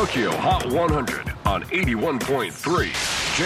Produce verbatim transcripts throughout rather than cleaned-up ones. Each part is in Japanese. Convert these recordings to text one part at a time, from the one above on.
Tokyo Hot one hundred on エイティワンポイントスリー J-Wave。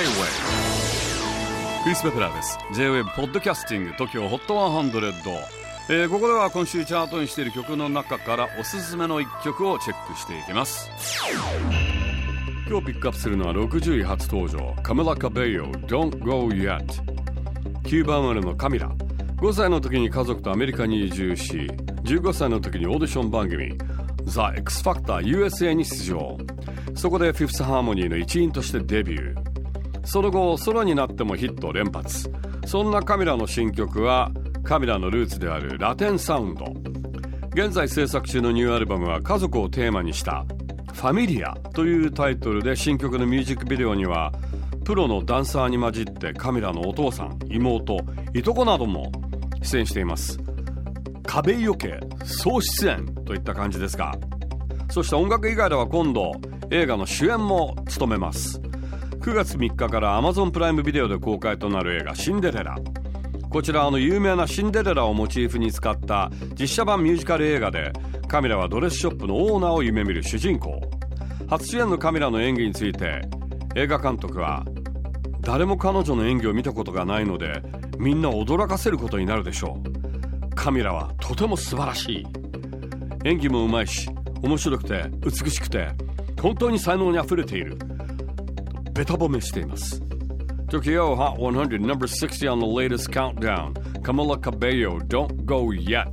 クリス・ベプラーです。 J-Wave ポッドキャスティング Tokyo Hot ワンハンドレッド、えー、ここでは今週チャートにしている曲の中からおすすめのいっきょくをチェックしていきます。今日ピックアップするのはろくじゅうい初登場、カメラ・カベイヨ Don't Go Yet。 キューバ生まれのカミラ、ごさいの時に家族とアメリカに移住し、じゅうごさいの時にオーディション番組 The X Factor ユーエスエー に出場。そこでフィフスハーモニーの一員としてデビュー。その後ソロになってもヒット連発。そんなカミラの新曲はカミラのルーツであるラテンサウンド。現在制作中のニューアルバムは家族をテーマにしたファミリアというタイトルで、新曲のミュージックビデオにはプロのダンサーに混じってカミラのお父さん、妹、いとこなども出演しています。カベイヨ家総出演といった感じですが、そして音楽以外では今度映画の主演も務めます。くがつみっかから Amazon プライムビデオで公開となる映画シンデレラ。こちらあの有名なシンデレラをモチーフに使った実写版ミュージカル映画で、カミラはドレスショップのオーナーを夢見る主人公。初主演のカミラの演技について映画監督は、誰も彼女の演技を見たことがないのでみんなを驚かせることになるでしょう。カミラはとても素晴らしい。演技もうまいし面白くて美しくて本当に才能にあふれている。ベタ褒めしています。 Tokyo Hot one hundred number sixty on the latest countdown. Camila Cabello, Don't Go Yet.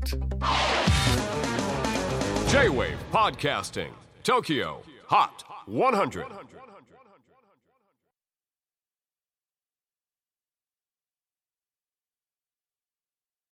J-Wave Podcasting Tokyo Hot one hundred.